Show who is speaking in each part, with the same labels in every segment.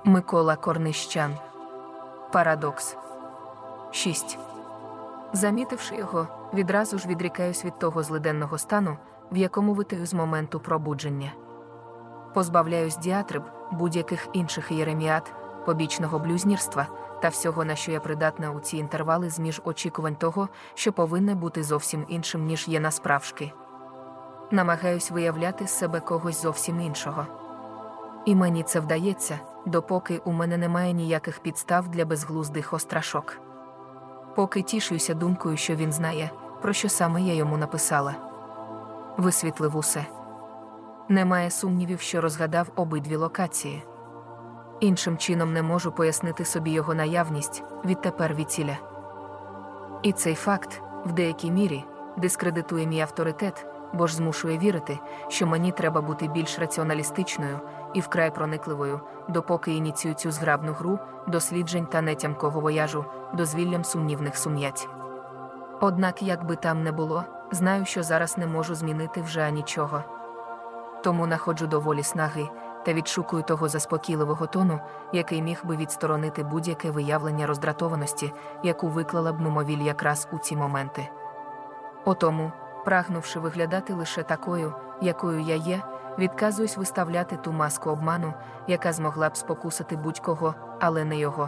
Speaker 1: Микола Корнищан. Парадокс. 6. Замітивши його, відразу ж відрікаюсь від того злиденного стану, в якому витаю з моменту пробудження. Позбавляюсь діатриб, будь-яких інших єреміад, побічного блюзнірства та всього, на що я придатна у ці інтервали зміж очікувань того, що повинне бути зовсім іншим, ніж є насправжки. Намагаюсь виявляти з себе когось зовсім іншого. І мені це вдається, допоки у мене немає ніяких підстав для безглуздих острашок. Поки тішуюся думкою, що він знає, про що саме я йому написала. Висвітлив усе. Немає сумнівів, що розгадав обидві локації. Іншим чином не можу пояснити собі його наявність, відтепер віціля. І цей факт, в деякій мірі, дискредитує мій авторитет, бо ж змушує вірити, що мені треба бути більш раціоналістичною і вкрай проникливою, допоки ініціюю цю зграбну гру, досліджень та нетямкого вояжу, дозвіллям сумнівних сум'ять. Однак, як би там не було, знаю, що зараз не можу змінити вже нічого. Тому находжу доволі снаги та відшукую того заспокійливого тону, який міг би відсторонити будь-яке виявлення роздратованості, яку виклала б мимовіль якраз у ці моменти. Отому, прагнувши виглядати лише такою, якою я є, відказуюсь виставляти ту маску обману, яка змогла б спокусити будь-кого, але не його.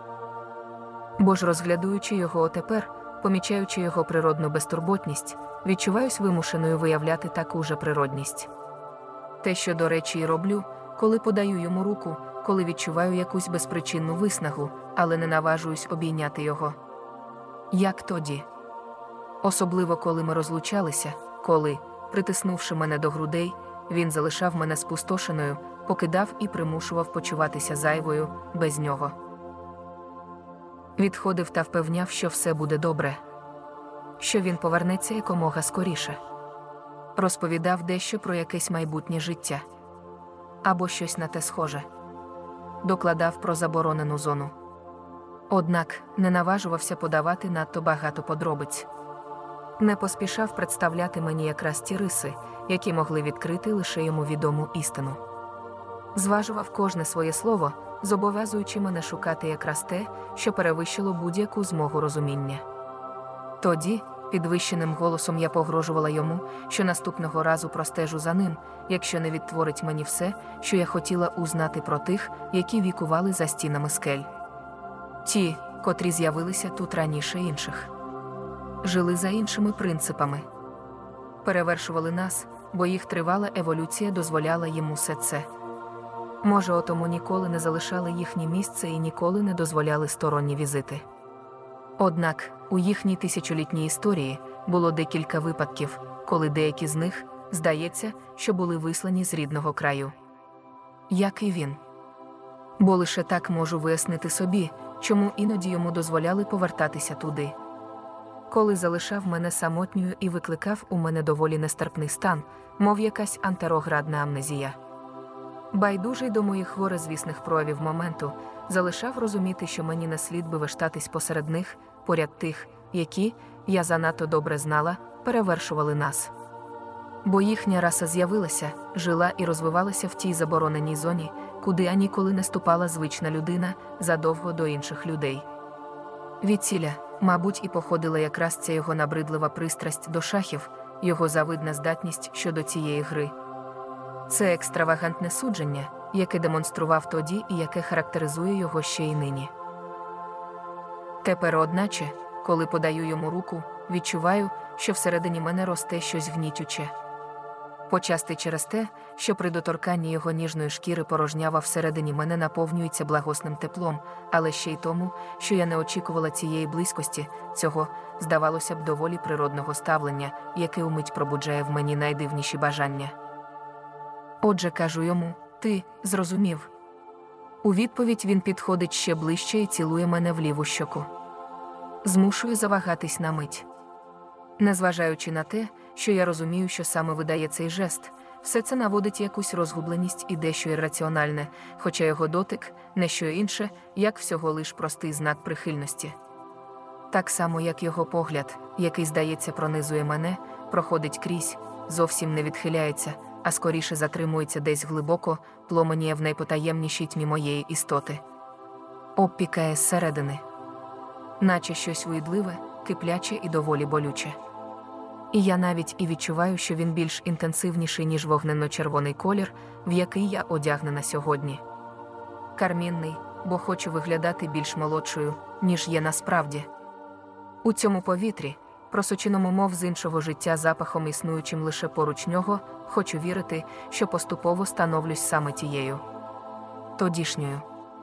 Speaker 1: Бо ж розглядуючи його отепер, помічаючи його природну безтурботність, відчуваюсь вимушеною виявляти таку же природність. Те, що, до речі, і роблю, коли подаю йому руку, коли відчуваю якусь безпричинну виснагу, але не наважуюсь обійняти його. Як тоді? Особливо, коли ми розлучалися, коли, притиснувши мене до грудей, він залишав мене спустошеною, покидав і примушував почуватися зайвою, без нього. Відходив та впевняв, що все буде добре. Що він повернеться якомога скоріше. Розповідав дещо про якесь майбутнє життя. Або щось на те схоже. Докладав про заборонену зону. Однак, не наважувався подавати надто багато подробиць. Не поспішав представляти мені якраз ті риси, які могли відкрити лише йому відому істину. Зважував кожне своє слово, зобов'язуючи мене шукати якраз те, що перевищило будь-яку змогу розуміння. Тоді, підвищеним голосом я погрожувала йому, що наступного разу простежу за ним, якщо не відтворить мені все, що я хотіла узнати про тих, які вікували за стінами скель. Ті, котрі з'явилися тут раніше інших. Жили за іншими принципами. Перевершували нас, бо їх тривала еволюція дозволяла їм усе це. Може, отому ніколи не залишали їхнє місце і ніколи не дозволяли сторонні візити. Однак, у їхній тисячолітній історії було декілька випадків, коли деякі з них, здається, що були вислані з рідного краю. Як і він. Бо лише так можу вияснити собі, чому іноді йому дозволяли повертатися туди. Коли залишав мене самотньою і викликав у мене доволі нестерпний стан, мов якась антероградна амнезія. Байдужий до моїх горизвісних проявів моменту, залишав розуміти, що мені не слід би вештатись посеред них, поряд тих, які, я занадто добре знала, перевершували нас. Бо їхня раса з'явилася, жила і розвивалася в тій забороненій зоні, куди ніколи не ступала звична людина, задовго до інших людей. Відціля, мабуть, і походила якраз ця його набридлива пристрасть до шахів, його завидна здатність щодо цієї гри. Це екстравагантне судження, яке демонстрував тоді і яке характеризує його ще й нині. Тепер, одначе, коли подаю йому руку, відчуваю, що всередині мене росте щось гнітюче. Почасти через те, що при доторканні його ніжної шкіри порожнява всередині мене наповнюється благосним теплом, але ще й тому, що я не очікувала цієї близькості, цього, здавалося б, доволі природного ставлення, яке умить пробуджає в мені найдивніші бажання. Отже, кажу йому: ти зрозумів. У відповідь він підходить ще ближче і цілує мене в ліву щоку. Змушує завагатись на мить. Незважаючи на те, що я розумію, що саме видає цей жест, все це наводить якусь розгубленість і дещо ірраціональне, хоча його дотик – не що інше, як всього лиш простий знак прихильності. Так само, як його погляд, який, здається, пронизує мене, проходить крізь, зовсім не відхиляється, а скоріше затримується десь глибоко, пломеніє в найпотаємнішій тьмі моєї істоти. Обпікає зсередини. Наче щось уїдливе, кипляче і доволі болюче. І я навіть і відчуваю, що він більш інтенсивніший, ніж вогненно-червоний колір, в який я одягнена сьогодні. Кармінний, бо хочу виглядати більш молодшою, ніж є насправді. У цьому повітрі, просоченому мов з іншого життя запахом, існуючим лише поруч нього, хочу вірити, що поступово становлюсь саме тією. Тодішньою.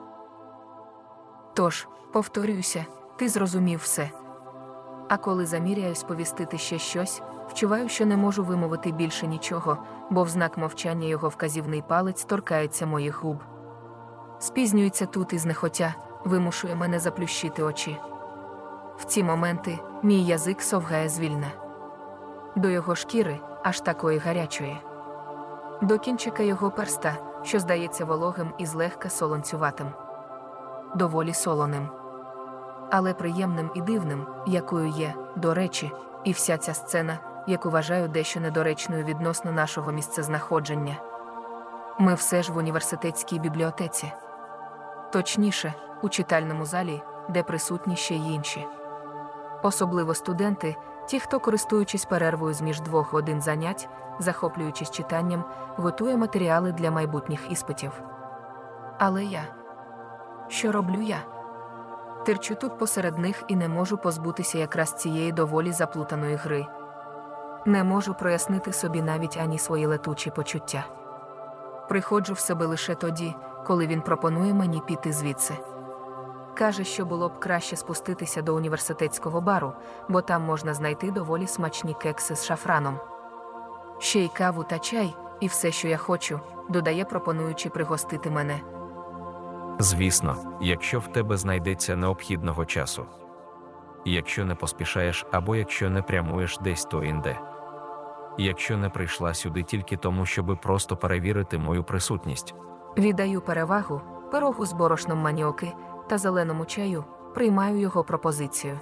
Speaker 1: Тож, повторююся, ти зрозумів все. А коли заміряюсь повістити ще щось, вчуваю, що не можу вимовити більше нічого, бо в знак мовчання його вказівний палець торкається моїх губ. Спізнюється тут і знехотя, вимушує мене заплющити очі. В ці моменти мій язик совгає звільна. До його шкіри, аж такої гарячої. До кінчика його перста, що здається вологим і злегка солонцюватим. Доволі солоним. Але приємним і дивним, якою є, до речі, і вся ця сцена, яку вважаю дещо недоречною відносно нашого місцезнаходження. Ми все ж в університетській бібліотеці. Точніше, у читальному залі, де присутні ще й інші. Особливо студенти, ті, хто, користуючись перервою з-між 2 годин занять, захоплюючись читанням, готує матеріали для майбутніх іспитів. Але я? Що роблю я? Терчу тут посеред них і не можу позбутися якраз цієї доволі заплутаної гри. Не можу прояснити собі навіть ані свої летучі почуття. Приходжу в себе лише тоді, коли він пропонує мені піти звідси. Каже, що було б краще спуститися до університетського бару, бо там можна знайти доволі смачні кекси з шафраном. Ще й каву та чай, і все, що я хочу, додає, пропонуючи пригостити мене.
Speaker 2: Звісно, якщо в тебе знайдеться необхідного часу. Якщо не поспішаєш або якщо не прямуєш десь то-інде. Якщо не прийшла сюди тільки тому, щоби просто перевірити мою присутність.
Speaker 1: Віддаю перевагу пирогу з борошном маніоки та зеленому чаю, приймаю його пропозицію.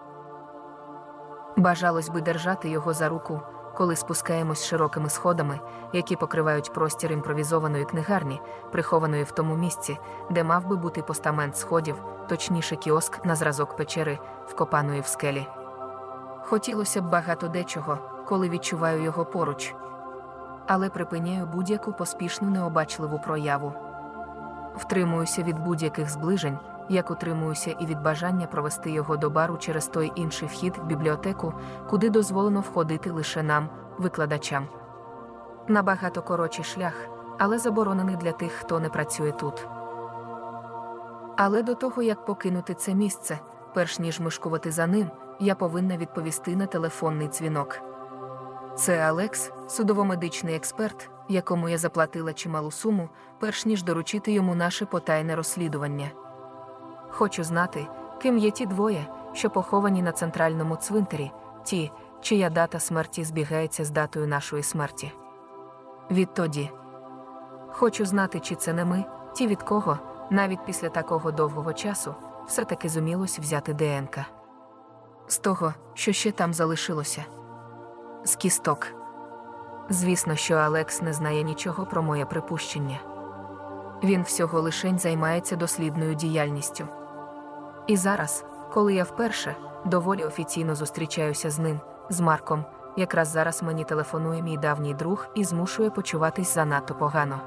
Speaker 1: Бажалось би держати його за руку, коли спускаємось широкими сходами, які покривають простір імпровізованої книгарні, прихованої в тому місці, де мав би бути постамент сходів, точніше кіоск на зразок печери, вкопаної в скелі. Хотілося б багато дечого, коли відчуваю його поруч. Але припиняю будь-яку поспішну необачливу прояву. Втримуюся від будь-яких зближень, як утримуюся і від бажання провести його до бару через той інший вхід в бібліотеку, куди дозволено входити лише нам, викладачам. Набагато коротший шлях, але заборонений для тих, хто не працює тут. Але до того, як покинути це місце, перш ніж мишкувати за ним, я повинна відповісти на телефонний дзвінок. Це Алекс, судово-медичний експерт, якому я заплатила чималу суму, перш ніж доручити йому наше потайне розслідування. Хочу знати, ким є ті двоє, що поховані на центральному цвинтарі, ті, чия дата смерті збігається з датою нашої смерті. Відтоді. Хочу знати, чи це не ми, ті, від кого, навіть після такого довгого часу, все-таки зумілось взяти ДНК. З того, що ще там залишилося. З кісток. Звісно, що Алекс не знає нічого про моє припущення. Він всього лишень займається дослідною діяльністю. І зараз, коли я вперше, доволі офіційно зустрічаюся з ним, з Марком, якраз зараз мені телефонує мій давній друг і змушує почуватись занадто погано.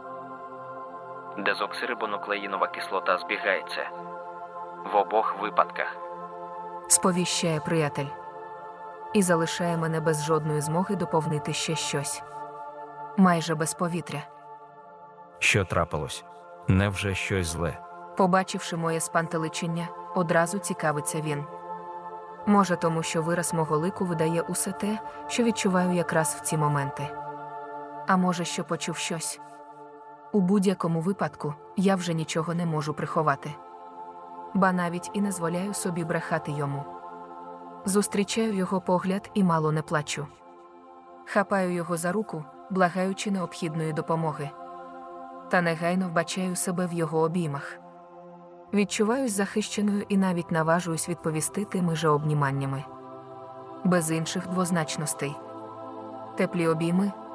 Speaker 3: Дезоксирибонуклеїнова кислота збігається. В обох випадках.
Speaker 1: Сповіщає приятель. І залишає мене без жодної змоги доповнити ще щось. Майже без повітря.
Speaker 2: Що трапилось? Невже щось зле?
Speaker 1: Побачивши моє спантеличення, одразу цікавиться він. Може, тому що вираз мого лику видає усе те, що відчуваю якраз в ці моменти. А може, що почув щось. У будь-якому випадку, я вже нічого не можу приховати. Ба навіть і не дозволяю собі брехати йому. Зустрічаю його погляд і мало не плачу. Хапаю його за руку, благаючи необхідної допомоги. Та негайно вбачаю себе в його обіймах. Відчуваюсь захищеною і навіть наважуюсь відповісти тими же обніманнями. Без інших двозначностей. Теплі обійми,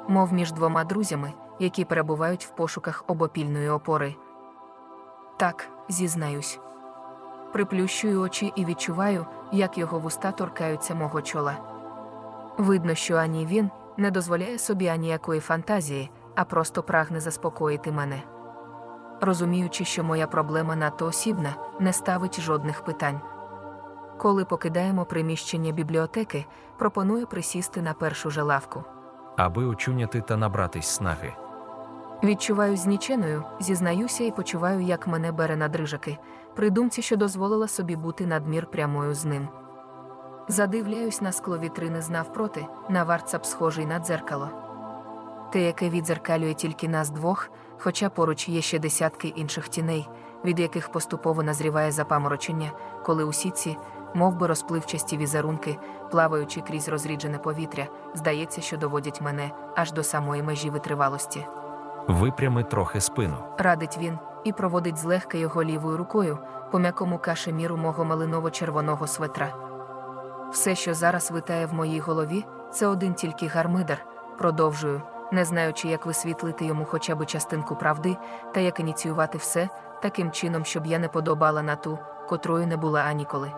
Speaker 1: мов між двома друзями, які перебувають в пошуках обопільної опори. Так, зізнаюсь. Приплющую очі і відчуваю, як його вуста торкаються мого чола. Видно, що ані він не дозволяє собі аніякої фантазії, а просто прагне заспокоїти мене. Розуміючи, що моя проблема надто осібна, не ставить жодних питань. Коли покидаємо приміщення бібліотеки, пропоную присісти на першу же лавку.
Speaker 2: Аби очуняти та набратись снаги.
Speaker 1: Відчуваю зніченою, зізнаюся і почуваю, як мене бере на дрижаки, при думці, що дозволила собі бути надмір прямою з ним. Задивляюсь на скло вітрини навпроти, на вартсап схожий на дзеркало. Те, яке віддзеркалює тільки нас двох, хоча поруч є ще десятки інших тіней, від яких поступово назріває запаморочення, коли усі ці, мов би розпливчасті візерунки, плаваючи крізь розріджене повітря, здається, що доводять мене аж до самої межі витривалості.
Speaker 2: Випрями трохи спину.
Speaker 1: Радить він і проводить злегка його лівою рукою по м'якому кашеміру мого малиново-червоного светра. Все, що зараз витає в моїй голові, це один тільки гармидар, продовжую, не знаючи, як висвітлити йому хоча б частинку правди, та як ініціювати все, таким чином, щоб я не подобала на ту, котрою не була аніколи.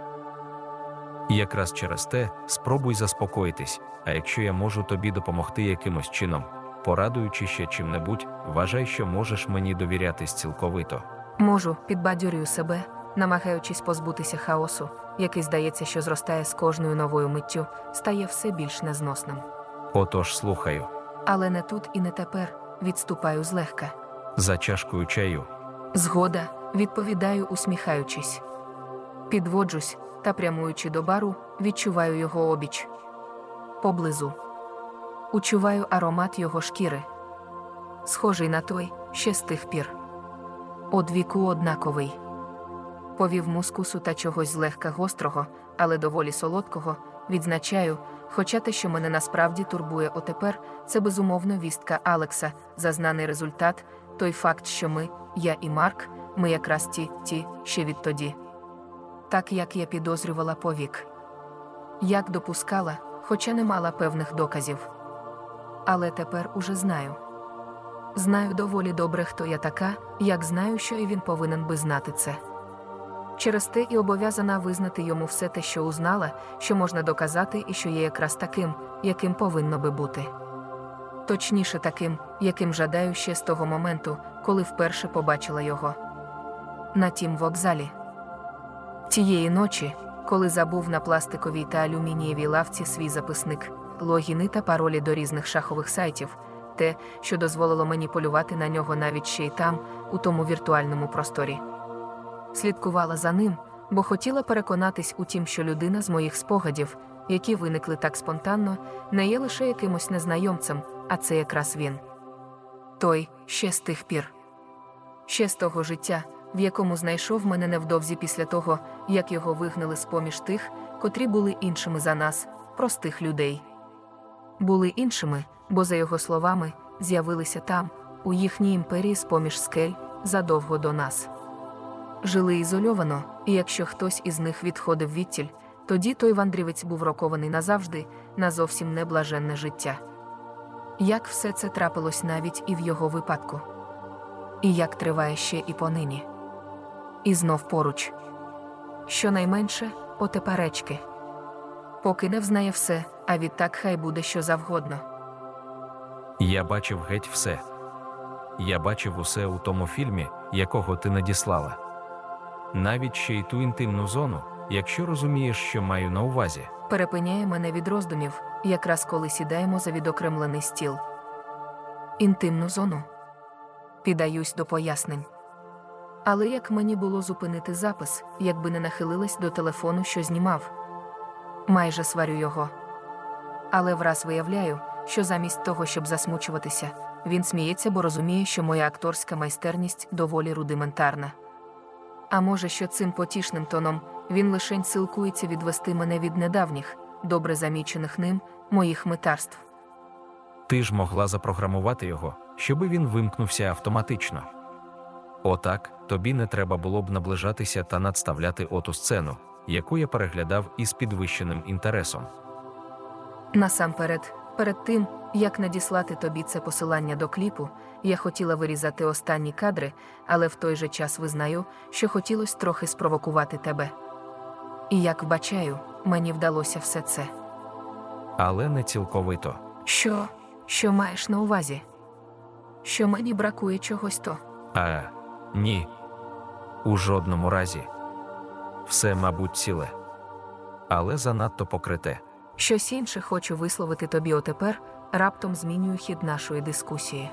Speaker 2: Якраз через те, спробуй заспокоїтись, а якщо я можу тобі допомогти якимось чином, порадуючи ще чим-небудь, вважай, що можеш мені довірятись цілковито.
Speaker 1: Можу, підбадьорюю себе, намагаючись позбутися хаосу, який, здається, що зростає з кожною новою миттю, стає все більш незносним.
Speaker 2: Отож, слухаю.
Speaker 1: Але не тут і не тепер, відступаю злегка.
Speaker 2: За чашкою чаю.
Speaker 1: Згода, відповідаю, усміхаючись. Підводжусь, та прямуючи до бару, відчуваю його обіч. Поблизу. Учуваю аромат його шкіри. Схожий на той, ще з тих пір. Одвіку однаковий. Повів мускусу та чогось злегка гострого, але доволі солодкого, відзначаю, хоча те, що мене насправді турбує отепер, це безумовно вістка Алекса, зазнаний результат, той факт, що я і Марк, ми якраз ті, ще відтоді. Так, як я підозрювала повік. Як допускала, хоча не мала певних доказів. Але тепер уже знаю. Знаю доволі добре, хто я така, як знаю, що і він повинен би знати це. Через те і обов'язана визнати йому все те, що узнала, що можна доказати і що є якраз таким, яким повинно би бути. Точніше таким, яким жадаю ще з того моменту, коли вперше побачила його. На тім вокзалі. Тієї ночі, коли забув на пластиковій та алюмінієвій лавці свій записник, логіни та паролі до різних шахових сайтів, те, що дозволило мені полювати на нього навіть ще й там, у тому віртуальному просторі. Слідкувала за ним, бо хотіла переконатись у тім, що людина з моїх спогадів, які виникли так спонтанно, не є лише якимось незнайомцем, а це якраз він. Той, ще з тих пір. Ще з того життя, в якому знайшов мене невдовзі після того, як його вигнали з-поміж тих, котрі були іншими за нас, простих людей. Були іншими, бо, за його словами, з'явилися там, у їхній імперії з-поміж скель, задовго до нас. Жили ізольовано, і якщо хтось із них відходив відтіль, тоді той вандрівець був рокований назавжди, на зовсім неблаженне життя. Як все це трапилось навіть і в його випадку. І як триває ще і понині. І знов поруч. Щонайменше, отеперечки. Поки не взнає все, а відтак хай буде що завгодно.
Speaker 2: Я бачив геть все. Я бачив усе у тому фільмі, якого ти надіслала. Навіть ще й ту інтимну зону, якщо розумієш, що маю на увазі.
Speaker 1: Перепиняє мене від роздумів, якраз коли сідаємо за відокремлений стіл. Інтимну зону. Піддаюсь до пояснень. Але як мені було зупинити запис, якби не нахилилась до телефону, що знімав? Майже сварю його. Але враз виявляю, що замість того, щоб засмучуватися, він сміється, бо розуміє, що моя акторська майстерність доволі рудиментарна. А може, що цим потішним тоном він лишень силкується відвести мене від недавніх, добре замічених ним, моїх митарств.
Speaker 2: Ти ж могла запрограмувати його, щоби він вимкнувся автоматично. Отак, тобі не треба було б наближатися та надставляти оту сцену, яку я переглядав із підвищеним інтересом.
Speaker 1: Насамперед, перед тим, Як надіслати тобі це посилання до кліпу, я хотіла вирізати останні кадри, але в той же час визнаю, що хотілося трохи спровокувати тебе. І як вбачаю, мені вдалося все це.
Speaker 2: Але не цілковито.
Speaker 1: Що маєш на увазі? Що мені бракує чогось то?
Speaker 2: Ні. У жодному разі. Все, мабуть, ціле. Але занадто покрите.
Speaker 1: Щось інше хочу висловити тобі отепер, раптом змінюю хід нашої дискусії.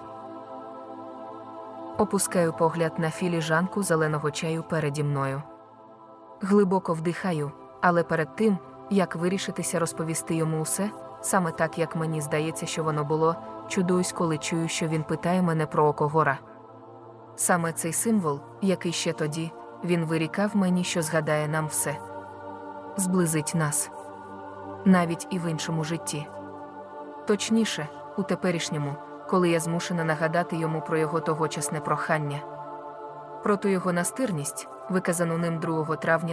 Speaker 1: Опускаю погляд на філіжанку зеленого чаю переді мною. Глибоко вдихаю, але перед тим, як вирішитися розповісти йому усе, саме так, як мені здається, що воно було, чудуюсь, коли чую, що він питає мене про око гора. Саме цей символ, який ще тоді, він вирікав мені, що згадає нам все. Зблизить нас. Навіть і в іншому житті. Точніше, у теперішньому, коли я змушена нагадати йому про його тогочасне прохання. Про ту його настирність, виказану ним 2 травня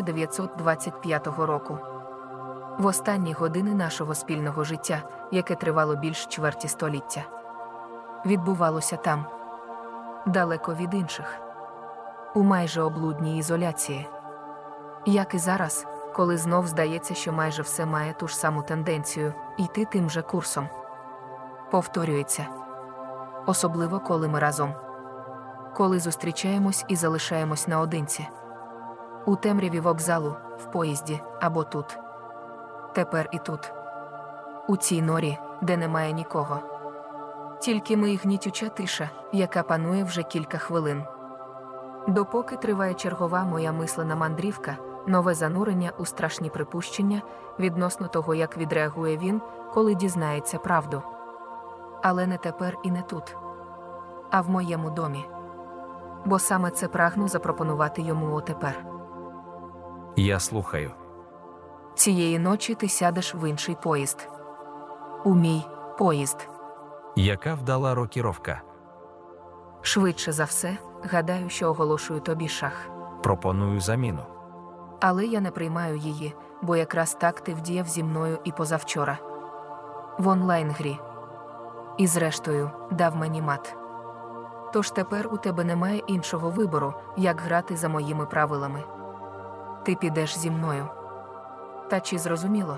Speaker 1: 1925 року. В останні години нашого спільного життя, яке тривало більш чверті століття. Відбувалося там. Далеко від інших. У майже облудній ізоляції. Як і зараз, коли знов здається, що майже все має ту ж саму тенденцію – йти тим же курсом. Повторюється. Особливо, коли ми разом. Коли зустрічаємось і залишаємось наодинці. У темряві вокзалу, в поїзді, або тут. Тепер і тут. У цій норі, де немає нікого. Тільки ми і гнітюча тиша, яка панує вже кілька хвилин. Допоки триває чергова моя мислена мандрівка, нове занурення у страшні припущення відносно того, як відреагує він, коли дізнається правду. Але не тепер і не тут. А в моєму домі. Бо саме це прагну запропонувати йому отепер.
Speaker 2: Я слухаю.
Speaker 1: Цієї ночі ти сядеш в інший поїзд. У мій поїзд.
Speaker 2: Яка вдала рокіровка?
Speaker 1: Швидше за все, гадаю, що оголошую тобі шах.
Speaker 2: Пропоную заміну.
Speaker 1: Але я не приймаю її, бо якраз так ти вдіяв зі мною і позавчора. В онлайн-грі. І зрештою, дав мені мат. Тож тепер у тебе немає іншого вибору, як грати за моїми правилами. Ти підеш зі мною. Та чи зрозуміло?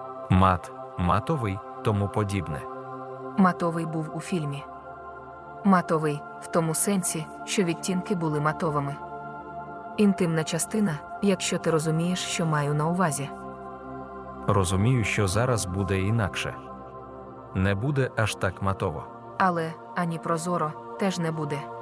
Speaker 2: Матовий, тому подібне.
Speaker 1: Матовий був у фільмі. Матовий, в тому сенсі, що відтінки були матовими. Інтимна частина, якщо ти розумієш, що маю на увазі.
Speaker 2: Розумію, що зараз буде інакше. Не буде аж так матово.
Speaker 1: Але, ані прозоро, теж не буде.